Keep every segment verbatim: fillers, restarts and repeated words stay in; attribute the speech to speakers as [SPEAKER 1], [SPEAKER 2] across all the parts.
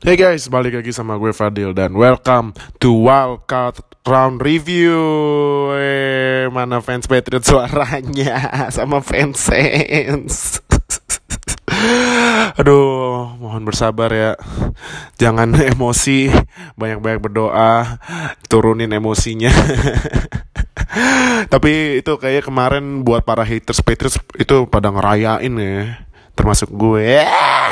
[SPEAKER 1] Hey guys, balik lagi sama gue Fadil dan welcome to Wildcard Round Review. Eh, mana fans Patriots suaranya sama fans Saints. Aduh, mohon bersabar ya. Jangan emosi, banyak-banyak berdoa, turunin emosinya. Tapi itu kayak kemarin buat para haters Patriots itu pada ngerayain ya, termasuk gue.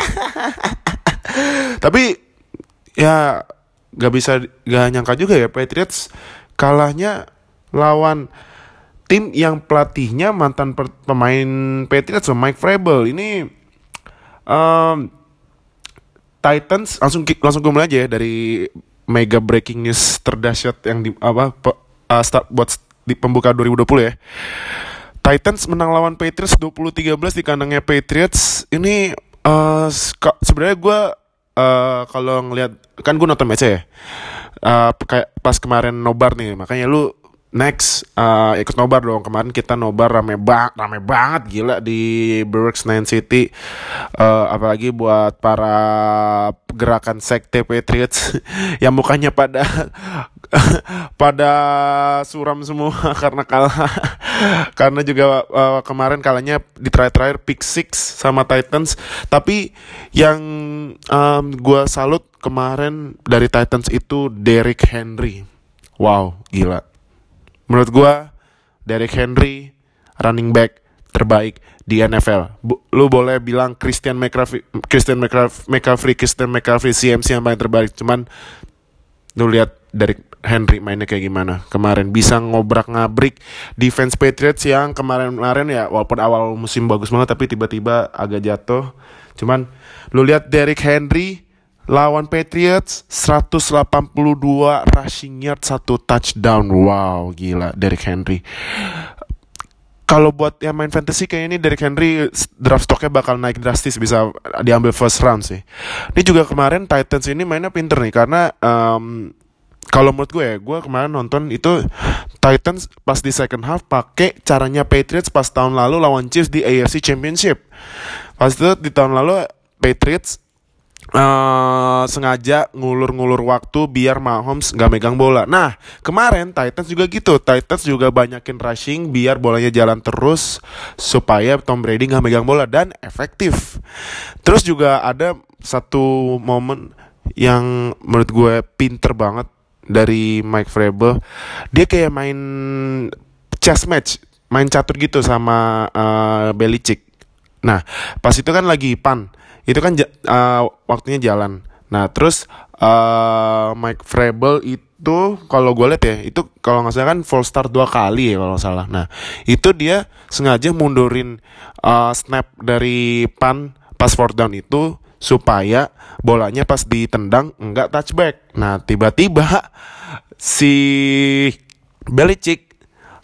[SPEAKER 1] Tapi ya gak bisa gak nyangka juga ya Patriots kalahnya lawan tim yang pelatihnya mantan per, pemain Patriots, so Mike Vrabel. Ini um, Titans langsung langsung gue mulai aja ya dari mega breaking news terdahsyat yang di apa pe, uh, start buat di pembuka dua ribu dua puluh ya. Titans menang lawan Patriots dua puluh tiga belas di kandangnya Patriots. Ini uh, sebenarnya gue Uh, kalau ngelihat kan gue nonton match ya, uh, kayak pas kemarin nobar nih, makanya lu next uh, ikut nobar dong. Kemarin kita nobar rame banget, rame banget gila di Berks Nine City, uh, apalagi buat para gerakan sekte Patriots yang mukanya pada pada suram semua karena kalah. Karena juga uh, kemarin kalahnya di terakhir-terakhir pick six sama Titans. Tapi yang um, gue salut kemarin dari Titans itu Derrick Henry. Wow, gila. Menurut gue Derrick Henry running back terbaik di N F L. Bu, lu boleh bilang Christian McCaffrey, Christian McCaffrey, Christian McCaffrey C M C yang paling terbaik. Cuman lu lihat Derrick Henry mainnya kayak gimana kemarin, bisa ngobrak-ngabrik defense Patriots yang kemarin-kemarin ya walaupun awal musim bagus banget tapi tiba-tiba agak jatuh. Cuman lu lihat Derrick Henry lawan Patriots seratus delapan puluh dua rushing yard, satu touchdown. Wow, gila Derrick Henry. Kalau buat yang main fantasy kayak ini Derrick Henry draft stocknya bakal naik drastis, bisa diambil first round sih. Ini juga kemarin Titans ini mainnya pinter nih karena um, kalau menurut gue ya, gue kemarin nonton itu Titans pas di second half pakai caranya Patriots pas tahun lalu lawan Chiefs di A F C Championship. Pas itu di tahun lalu Patriots uh, sengaja ngulur-ngulur waktu biar Mahomes gak megang bola. Nah kemarin Titans juga gitu, Titans juga banyakin rushing biar bolanya jalan terus supaya Tom Brady gak megang bola, dan efektif. Terus juga ada satu momen yang menurut gue pinter banget dari Mike Vrabel. Dia kayak main chess match, main catur gitu sama uh, Belichick. Nah pas itu kan lagi pan, itu kan uh, waktunya jalan. Nah terus uh, Mike Vrabel itu kalau gue liat ya, itu kalau nggak salah kan full start dua kali ya kalau nggak salah. Nah itu dia sengaja mundurin uh, snap dari pan pas fourth down itu supaya bolanya pas ditendang enggak touchback. Nah tiba-tiba si Belichick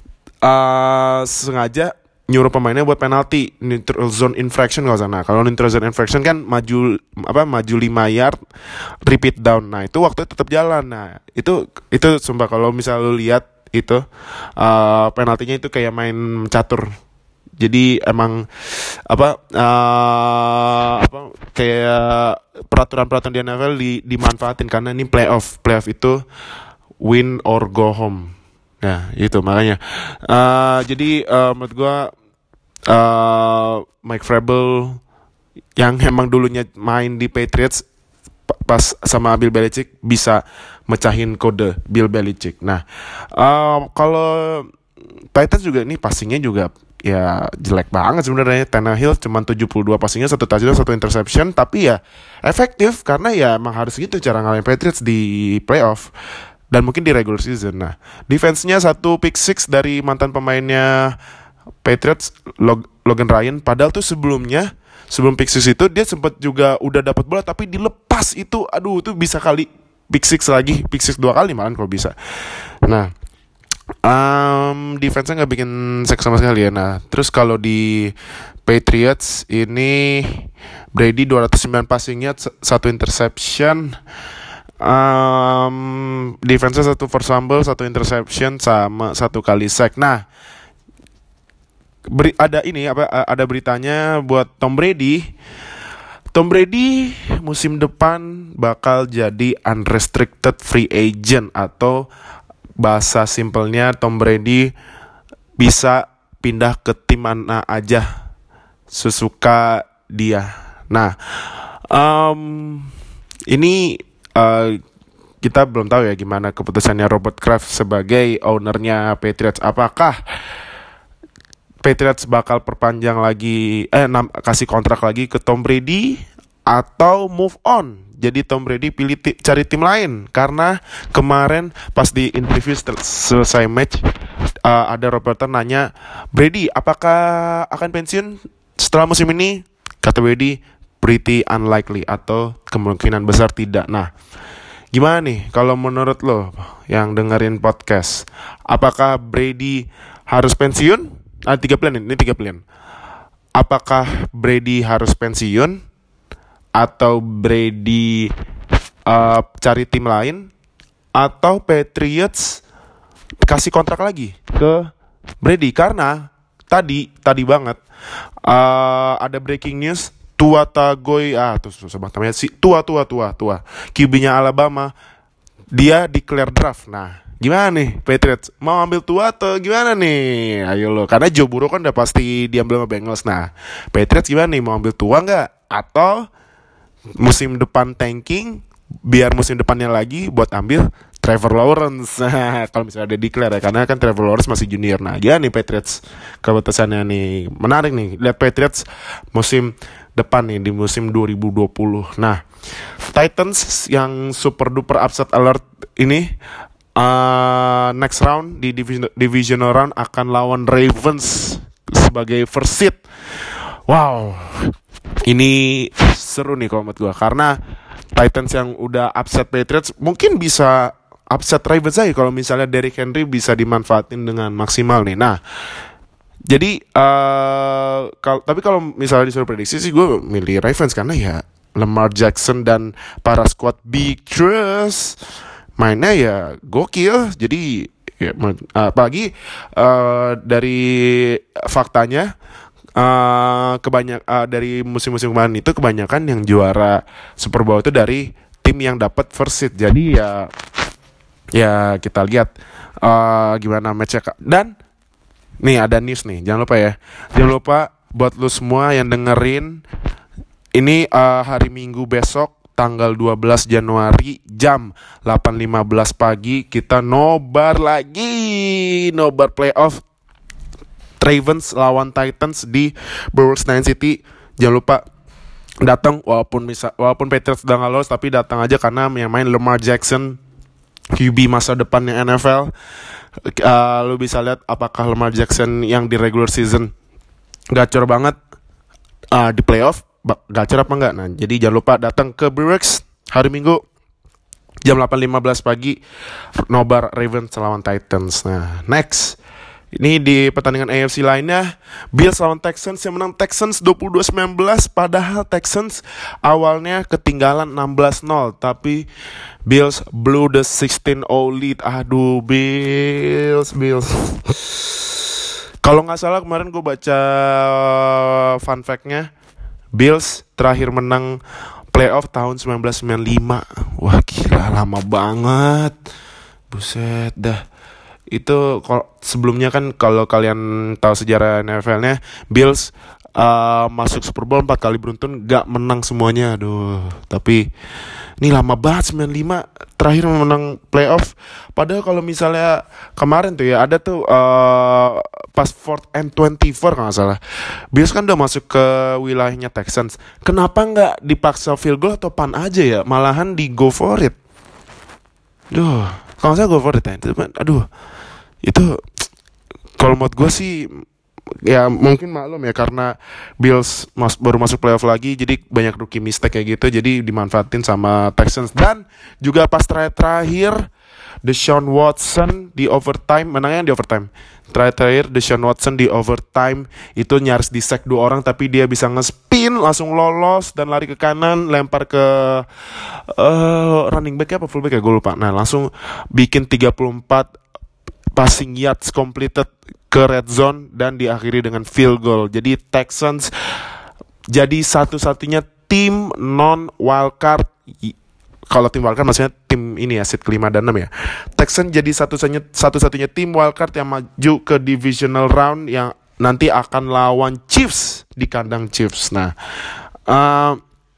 [SPEAKER 1] uh, sengaja nyuruh pemainnya buat penalti neutral zone infraction kalau sana. Kalau neutral zone infraction kan maju apa maju lima yard repeat down. Nah itu waktu tetap jalan. Nah itu itu sumpah kalau misal lu lihat itu uh, penaltinya itu kayak main catur. Jadi emang apa uh, apa kayak peraturan-peraturan di N F L di, dimanfaatin karena ini playoff. Playoff itu win or go home. Nah itu makanya uh, jadi uh, menurut gue uh, Mike Vrabel yang emang dulunya main di Patriots pas sama Bill Belichick bisa mecahin kode Bill Belichick. Nah uh, kalau Titans juga nih passingnya juga ya jelek banget sebenarnya. Tannehill cuma tujuh puluh dua passingnya, satu touchdown, satu interception, tapi ya efektif karena ya emang harus gitu cara ngalahin Patriots di playoff dan mungkin di regular season. Nah defense-nya satu pick six dari mantan pemainnya Patriots, Log- Logan Ryan. Padahal tuh sebelumnya sebelum pick six itu dia sempat juga udah dapat bola tapi dilepas itu, aduh tuh bisa kali pick six lagi, pick six dua kali malah kalau bisa. Nah Um, defense-nya gak bikin seks sama sekali ya. Nah terus kalau di Patriots ini Brady dua ratus sembilan passingnya, satu interception, um, defense-nya satu force fumble, satu interception, sama satu kali sack. Nah beri, ada ini apa ada beritanya buat Tom Brady. Tom Brady musim depan bakal jadi unrestricted free agent, atau bahasa simpelnya Tom Brady bisa pindah ke tim mana aja sesuka dia. Nah, um, ini uh, kita belum tahu ya gimana keputusannya Robert Kraft sebagai ownernya Patriots. Apakah Patriots bakal perpanjang lagi, eh nam, kasih kontrak lagi ke Tom Brady, atau move on? Jadi Tom Brady pilih ti- cari tim lain. Karena kemarin pas di interview sel- selesai match, uh, ada reporter nanya, Brady apakah akan pensiun setelah musim ini? Kata Brady, pretty unlikely, atau kemungkinan besar tidak. Nah, gimana nih kalau menurut lo yang dengerin podcast? Apakah Brady harus pensiun? Ah, tiga pilihan ini, tiga pilihan. Apakah Brady harus pensiun, atau Brady uh, cari tim lain, atau Patriots kasih kontrak lagi ke Brady? Karena tadi tadi banget uh, ada breaking news, Tua Tagovailoa, ah tuh susah banget namanya, si Tua Tua Tua Tua Q B-nya Alabama, dia declare draft. Nah, gimana nih Patriots? Mau ambil Tua atau gimana nih? Ayo lo, karena Joe Burrow kan udah pasti diambil sama Bengals. Nah, Patriots gimana nih? Mau ambil Tua nggak? Atau musim depan tanking, biar musim depannya lagi buat ambil Trevor Lawrence? Kalau misalnya ada declare ya, karena kan Trevor Lawrence masih junior. Nah, gimana nih Patriots keputusannya nih? Menarik nih, lihat Patriots musim depan nih, di musim dua ribu dua puluh. Nah, Titans yang super duper upset alert ini, Uh, next round di division, divisional round akan lawan Ravens sebagai first seed. Wow, ini seru nih kalau menurut gue, karena Titans yang udah upset Patriots mungkin bisa upset Ravens aja kalau misalnya Derrick Henry bisa dimanfaatin dengan maksimal nih. Nah, jadi uh, kal- tapi kalau misalnya disuruh prediksi sih gue milih Ravens, karena ya Lamar Jackson dan para squad big trust mainnya ya gokil. Jadi ya, apalagi uh, dari faktanya, uh, kebanyak uh, dari musim-musim kemarin itu kebanyakan yang juara Super Bowl itu dari tim yang dapat first seed. Jadi ya ya kita lihat uh, gimana matchnya. Dan nih ada news nih, jangan lupa ya, jangan lupa buat lu semua yang dengerin ini, uh, hari Minggu besok tanggal dua belas Januari jam delapan lima belas pagi kita nobar lagi, nobar playoff Ravens lawan Titans di Brewers Nine City. Jangan lupa datang, walaupun misal, walaupun Patriots udah nggak lolos, tapi datang aja karena yang main Lamar Jackson, Q B masa depannya N F L. Uh, lu bisa lihat apakah Lamar Jackson yang di regular season gacor banget, uh, di playoff gacor apa enggak. Nah, jadi jangan lupa datang ke Brewers hari Minggu jam delapan lima belas pagi, nobar Ravens lawan Titans. Nah, next ini di pertandingan A F C lainnya, Bills lawan Texans, yang menang Texans dua puluh dua sembilan belas. Padahal Texans awalnya ketinggalan enam belas nol, tapi Bills blew the sixteen nol lead. Aduh, Bills Bills kalau nggak salah kemarin gue baca fun fact-nya, Bills terakhir menang playoff tahun sembilan belas sembilan puluh lima. Wah gila, lama banget. Buset dah. Itu kalau sebelumnya kan, kalau kalian tahu sejarah N F L-nya, Bills uh, masuk Super Bowl empat kali beruntun gak menang semuanya. Aduh, tapi ini lama banget, sembilan puluh lima terakhir menang playoff. Padahal kalau misalnya kemarin tuh ya, ada tuh uh, pas fourth and twenty-four kalau gak salah, Bills kan udah masuk ke wilayahnya Texans. Kenapa gak dipaksa field goal atau punt aja ya, malahan di go for it. Duh, kalau saya go for it ya, aduh, itu kalau menurut gue sih ya mungkin maklum ya, karena Bills mas, baru masuk playoff lagi, jadi banyak rookie mistake kayak gitu, jadi dimanfaatin sama Texans. Dan juga pas terakhir Deshaun Watson di overtime, menangnya di overtime. Terakhir Deshaun Watson di overtime itu nyaris di-sack dua orang, tapi dia bisa nge-spin langsung lolos dan lari ke kanan, lempar ke uh, running back apa fullback ya, gue lupa. Nah, langsung bikin tiga puluh empat passing yards completed ke red zone dan diakhiri dengan field goal. Jadi Texans jadi satu-satunya tim non wildcard. Kalau tim wildcard maksudnya tim ini ya, seed kelima dan enam ya. Texans jadi satu-satunya satu-satunya tim wildcard yang maju ke divisional round yang nanti akan lawan Chiefs di kandang Chiefs. Nah, uh,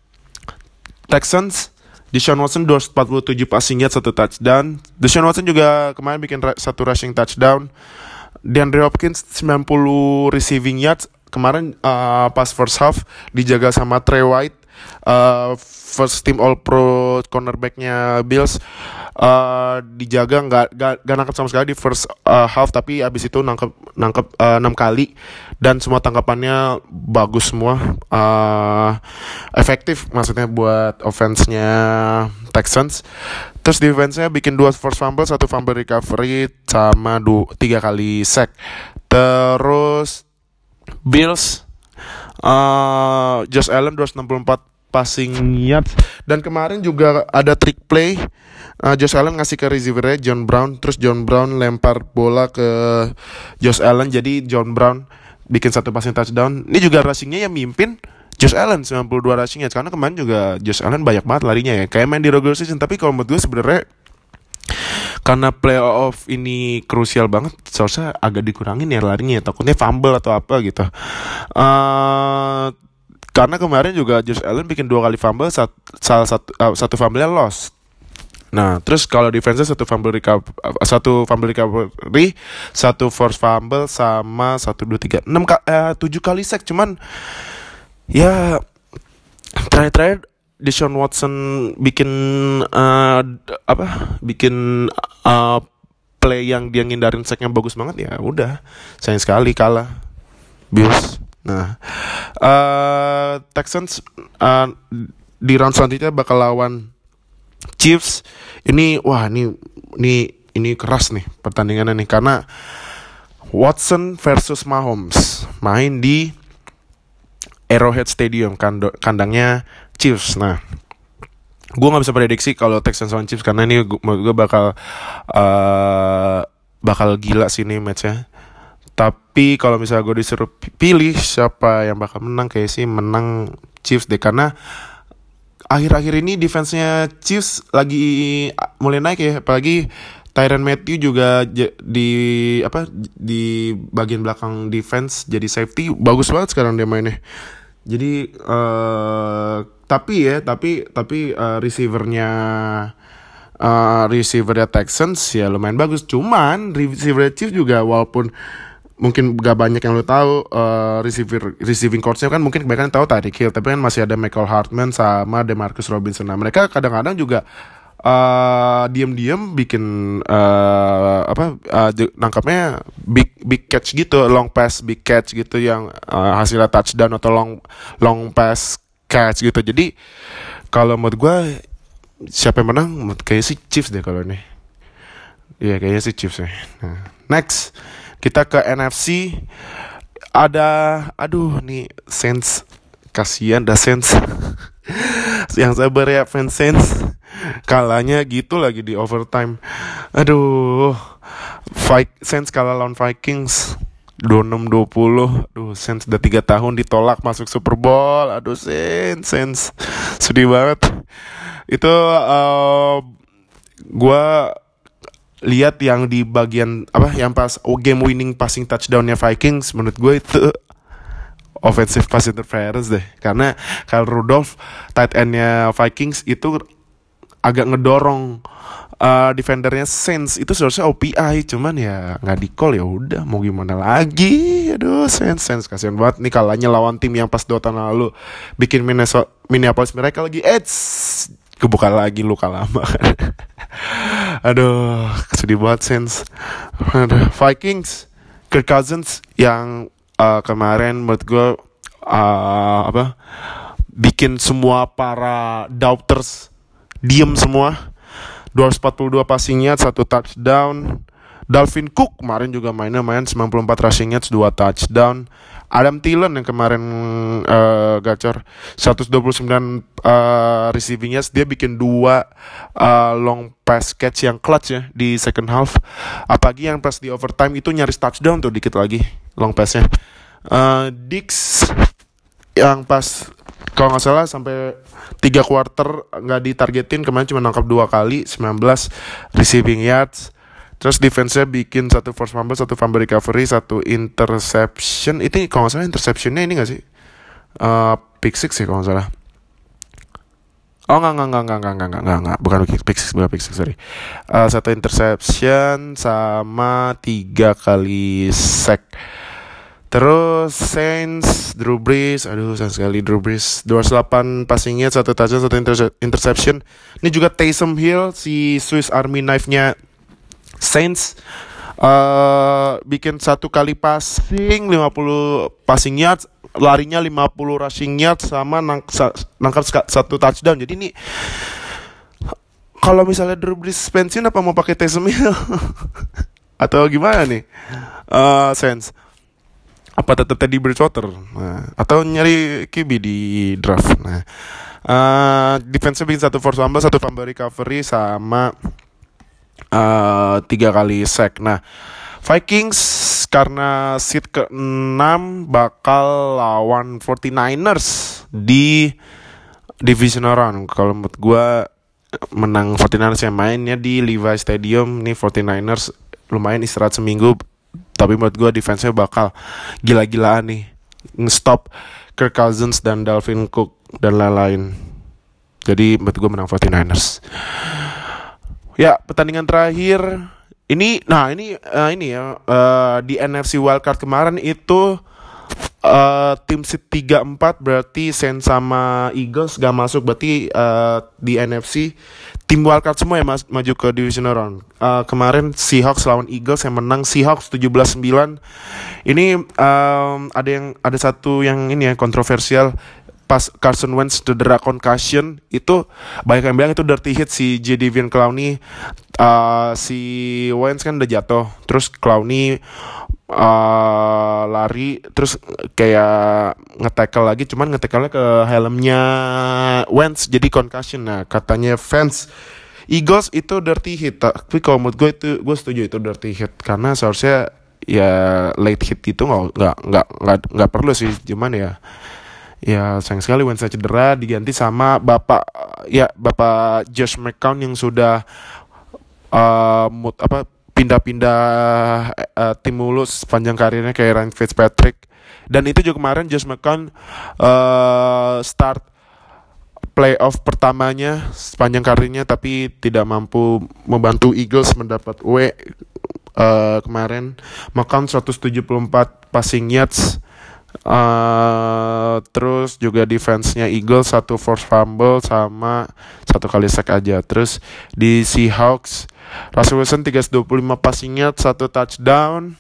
[SPEAKER 1] Texans Deshaun Watson dua ratus empat puluh tujuh passing yards, satu touchdown. Deshaun Watson juga kemarin bikin ra- satu rushing touchdown. DeAndre Hopkins sembilan puluh receiving yards. Kemarin uh, pas first half dijaga sama Trey White, uh, first team All Pro cornerbacknya Bills, uh, dijaga nggak nggak nggak nangkep sama sekali di first uh, half, tapi abis itu nangkep nangkep uh, enam kali dan semua tangkapannya bagus semua, uh, efektif maksudnya buat offense-nya Texans. Terus defense-nya bikin dua forced fumble, satu fumble recovery sama du- tiga kali sack. Terus Bills, uh, Josh Allen dua ratus enam puluh empat passing yards. Dan kemarin juga ada trick play, uh, Josh Allen ngasih ke receiver-nya John Brown, terus John Brown lempar bola ke Josh Allen, jadi John Brown bikin satu passing touchdown. Ini juga rushing-nya yang mimpin Josh Allen sembilan puluh dua rushing yards, karena kemarin juga Josh Allen banyak banget larinya ya, kayak main di regular season. Tapi kalau menurut gue sebenarnya karena playoff ini krusial banget, seharusnya agak dikurangin ya larinya, takutnya fumble atau apa gitu. Uh, karena kemarin juga Josh Allen bikin dua kali fumble, sat, salah satu uh, satu fumble-nya lost. Nah, terus kalau defense satu fumble recover, satu fumble recovery, satu forced fumble sama satu dua tiga enam eh, tujuh kali sack. Cuman ya terakhir-terakhir Deshaun Watson bikin uh, apa? Bikin uh, play yang dia ngindarin sacknya bagus banget, ya udah, sayang sekali kalah Bills. Nah, uh, Texans uh, di round selanjutnya bakal lawan Chiefs. Ini wah ini ini ini keras nih pertandingannya nih, karena Watson versus Mahomes main di Arrowhead Stadium, kando, kandangnya Chiefs. Nah, gue nggak bisa prediksi kalau Texans lawan Chiefs, karena ini gue bakal uh, bakal gila sih ini matchnya. Tapi kalau misalnya gue disuruh pilih siapa yang bakal menang, kayak sih menang Chiefs deh, karena akhir-akhir ini defense-nya Chiefs lagi mulai naik ya, apalagi Tyrann Mathieu juga j- di apa di bagian belakang defense jadi safety, bagus banget sekarang dia mainnya. Jadi uh, tapi ya tapi tapi uh, receivernya uh, receivernya Texans ya lumayan bagus. Cuman receiver Chiefs juga walaupun mungkin gak banyak yang lo tahu, uh, receiver receiving coach-nya kan mungkin kebanyakan tahu Tyreek Hill, tapi kan masih ada Michael Hartman sama DeMarcus Robinson. Nah, mereka kadang-kadang juga uh, diam-diam bikin uh, apa uh, nangkapnya big big catch gitu, long pass big catch gitu yang uh, hasilnya touchdown atau long long pass catch gitu. Jadi kalau menurut gue siapa yang menang, menurut kayaknya sih Chiefs deh kalau ini. Iya, kayaknya sih Chiefs ya. Nah, next kita ke N F C. Ada, aduh nih Saints, kasihan dah Saints. Yang sabar ya fans Saints, kalahnya gitu lagi di overtime. Aduh, Fight Saints kalah lawan Vikings dua puluh enam dua puluh. Aduh, Saints udah tiga tahun ditolak masuk Super Bowl. Aduh Saints, Saints sedih banget. Itu uh, gua lihat yang di bagian apa yang pas game winning passing touchdownnya Vikings, menurut gue itu offensive pass interference deh, karena Kyle Rudolph tight endnya Vikings itu agak ngedorong uh, defendernya Saints, itu seharusnya O P I, cuman ya nggak di call, ya udah mau gimana lagi. Aduh Saints Saints kasihan banget nih kalahnya lawan tim yang pas dua tahun lalu bikin Minnesota Minneapolis Miracle lagi Edge kebuka lagi luka lama. Aduh, sedih banget Saints. Aduh, Vikings, Kirk Cousins yang uh, kemarin menurut gue uh, apa bikin semua para doubters diem semua. dua ratus empat puluh dua passing yards, satu touchdown. Dalvin Cook kemarin juga mainnya main sembilan puluh empat rushing yards, dua touchdown. Adam Thielen yang kemarin uh, gacor seratus dua puluh sembilan uh, receiving yards, dia bikin dua uh, long pass catch yang clutch ya di second half. Apalagi yang pas di overtime itu nyaris touchdown tuh, dikit lagi long passnya. Uh, Dix yang pas kalau nggak salah sampai tiga quarter nggak ditargetin, kemarin cuma nangkap dua kali, sembilan belas receiving yards. Terus defense-nya bikin satu force fumble, satu fumble recovery, satu interception. Itu kalau nggak salah interception-nya ini nggak sih? Uh, pick six sih kalau nggak salah. Oh nggak nggak nggak nggak nggak nggak nggak nggak bukan pick six, bukan pick six, sorry. Uh, satu interception sama tiga kali sack. Terus Saints, Drew Brees, aduh sayang sekali Drew Brees, dua puluh delapan passing yards, satu touchdown, satu inter- interception. Ini juga Taysom Hill, si Swiss Army knife-nya Saints, uh, bikin satu kali passing, lima puluh passing yards, larinya lima puluh rushing yards, sama nang- sa- nangkap satu touchdown. Jadi ini kalau misalnya Drew Brees pensiun, apa mau pakai Taysom Hill? Atau gimana nih? Uh, Saints apa tetap Teddy Bridgewater? Nah, atau nyari Q B di draft? Nah, uh, defense bikin satu force fumble, satu fumble recovery, sama Uh, tiga kali sack. Nah, Vikings karena seed keenam bakal lawan forty-niners di divisional round. Kalau menurut gue menang forty-niners yang mainnya di Levi Stadium. Nih forty-niners lumayan istirahat seminggu, tapi menurut gue defense-nya bakal gila-gilaan nih, nge-stop Kirk Cousins dan Dalvin Cook dan lain-lain. Jadi menurut gue menang forty-niners. Ya, pertandingan terakhir ini, nah ini uh, ini ya uh, di N F C Wildcard kemarin itu uh, tim seed tiga empat, berarti Saints sama Eagles gak masuk, berarti uh, di N F C tim wildcard semua yang mas- maju ke divisional round. Uh, kemarin Seahawks lawan Eagles yang menang Seahawks tujuh belas sembilan. Ini um, ada yang ada satu yang ini ya kontroversial. Pas Carson Wentz cedera concussion, itu banyak yang bilang itu dirty hit si Jadeveon Clowney. Uh, si Wentz kan udah jatuh, terus Clowney uh, lari, terus kayak nge-tackle lagi, cuman nge-tackle-nya ke helmnya Wentz, jadi concussion. Nah, katanya fans Eagles itu dirty hit, tapi kalau menurut gue itu, gue setuju itu dirty hit, karena seharusnya ya late hit itu nggak nggak nggak nggak nggak perlu sih, cuman ya ya sayang sekali Wentz cedera, diganti sama bapak ya bapak Josh McCown yang sudah uh, mut, apa pindah-pindah uh, tim mulus sepanjang karirnya kayak Ryan Fitzpatrick. Dan itu juga kemarin Josh McCown uh, start playoff pertamanya sepanjang karirnya, tapi tidak mampu membantu Eagles mendapat W uh, kemarin. McCown seratus tujuh puluh empat passing yards. Uh, terus juga defense-nya Eagles satu force fumble sama satu kali sack aja. Terus di Seahawks Russell Wilson tiga ratus dua puluh lima passing yards, satu touchdown.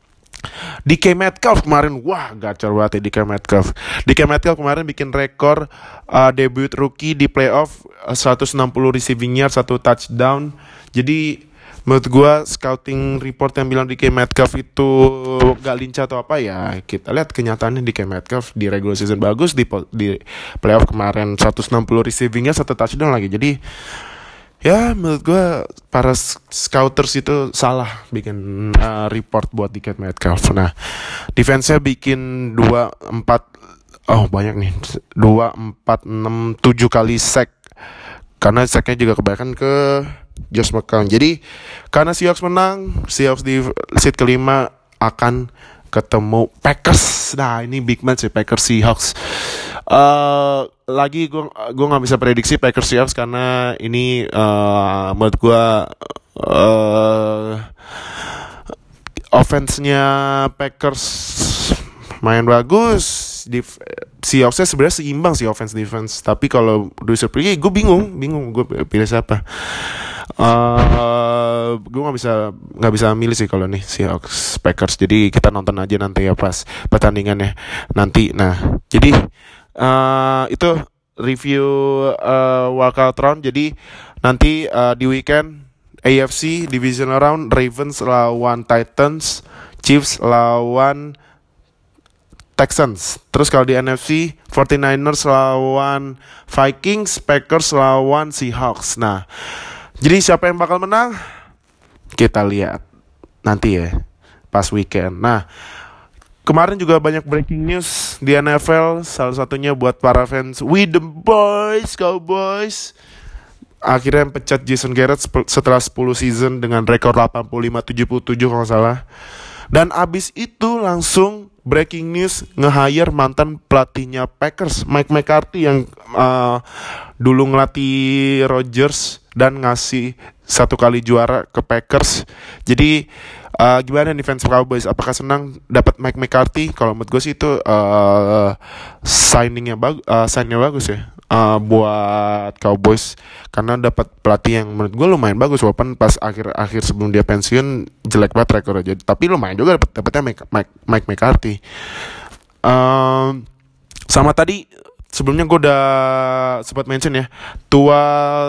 [SPEAKER 1] D K Metcalf kemarin, wah gacor banget ya D K Metcalf. D K Metcalf kemarin bikin rekor uh, debut rookie di playoff, uh, seratus enam puluh receiving yards, satu touchdown. Jadi menurut gue scouting report yang bilang D K Metcalf itu gak lincah atau apa, ya kita lihat kenyataannya. D K Metcalf di regular season bagus, di, di playoff kemarin seratus enam puluh receivingnya, satu touchdown lagi. Jadi ya menurut gue para scouters itu salah bikin uh, report buat D K Metcalf. Nah, defense-nya bikin dua empat, oh banyak nih, dua empat enam tujuh kali sack, karena sacknya juga kebanyakan ke Josh McCown. Jadi karena Seahawks menang, Seahawks di seat kelima akan ketemu Packers. Nah ini big match ya, Packers Seahawks. Uh, lagi gue gue nggak bisa prediksi Packers Seahawks karena ini uh, menurut gue uh, offense-nya Packers main bagus. Di Seahawks-nya sebenarnya seimbang sih offense defense, tapi kalau user pergi gue bingung bingung gue pilih siapa. Uh, gue nggak bisa nggak bisa milih sih kalau nih Seahawks Packers. Jadi kita nonton aja nanti ya pas pertandingannya nanti. Nah jadi uh, itu review uh, wildcard round. Jadi nanti uh, di weekend A F C divisional round, Ravens lawan Titans, Chiefs lawan Texans. Terus kalau di N F C, forty-niners lawan Vikings, Packers lawan Seahawks. Nah, jadi siapa yang bakal menang? Kita lihat nanti ya pas weekend. Nah, kemarin juga banyak breaking news di N F L. Salah satunya buat para fans We the Boys, Cowboys, akhirnya pecat Jason Garrett setelah sepuluh season dengan rekor delapan puluh lima tujuh puluh tujuh kalau nggak salah. Dan abis itu langsung breaking news nge-hire mantan pelatihnya Packers, Mike McCarthy, yang uh, dulu ngelatih Rodgers dan ngasih satu kali juara ke Packers. Jadi uh, gimana nih fans Cowboys? Apakah senang dapat Mike McCarthy? Kalau menurut gue sih itu uh, signingnya bagus, uh, signnya bagus ya uh, buat Cowboys, karena dapat pelatih yang menurut gue lumayan bagus, walaupun pas akhir-akhir sebelum dia pensiun jelek banget rekornya. Jadi tapi lumayan juga dapat dapatnya Mike, Mike, Mike McCarthy. Um, sama tadi sebelumnya gue udah sempat mention ya, tua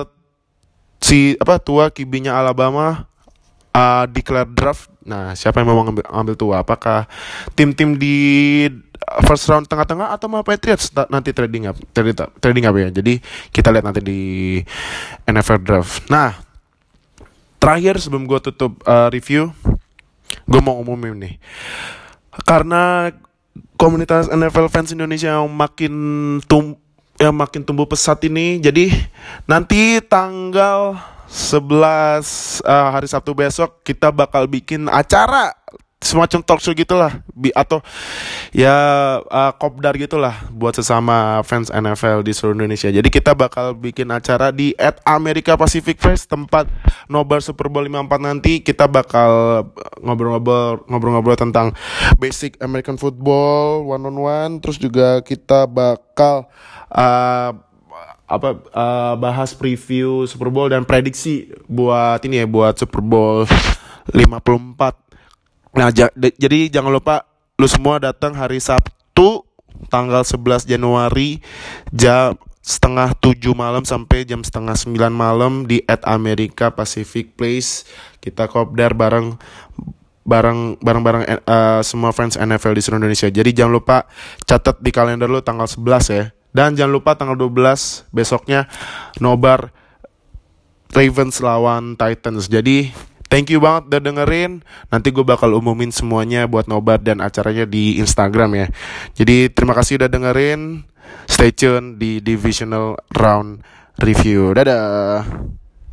[SPEAKER 1] si apa tua kibinya Alabama uh, declare draft. Nah, siapa yang mau ngambil, ngambil tua? Apakah tim-tim di first round tengah-tengah atau mau Patriots nanti trading up, trading, trading up ya. Jadi kita lihat nanti di N F L draft. Nah, terakhir sebelum gue tutup uh, review, gue mau umumin nih, karena komunitas N F L fans Indonesia yang makin tum yang makin tumbuh pesat ini, jadi nanti tanggal sebelas uh, hari Sabtu besok kita bakal bikin acara semacam talk show gitulah, Bi- atau ya uh, kopdar gitulah buat sesama fans N F L di seluruh Indonesia. Jadi kita bakal bikin acara di at America Pacific Place, tempat nobar Super Bowl lima puluh empat nanti. Kita bakal ngobrol-ngobrol ngobrol-ngobrol tentang basic American football one on one, terus juga kita bakal uh, apa uh, bahas preview Super Bowl dan prediksi buat ini ya, buat Super Bowl lima puluh empat. Nah, j- jadi jangan lupa lu semua datang hari Sabtu tanggal sebelas Januari jam setengah tujuh malam sampai jam setengah sembilan malam di at America Pacific Place. Kita kopdar bareng bareng bareng-bareng uh, semua fans N F L di seluruh Indonesia. Jadi jangan lupa catat di kalender lu tanggal sebelas ya. Dan jangan lupa tanggal dua belas besoknya nobar Ravens lawan Titans. Jadi thank you banget udah dengerin. Nanti gue bakal umumin semuanya buat nobar dan acaranya di Instagram ya. Jadi terima kasih udah dengerin. Stay tune di Divisional Round Review. Dadah.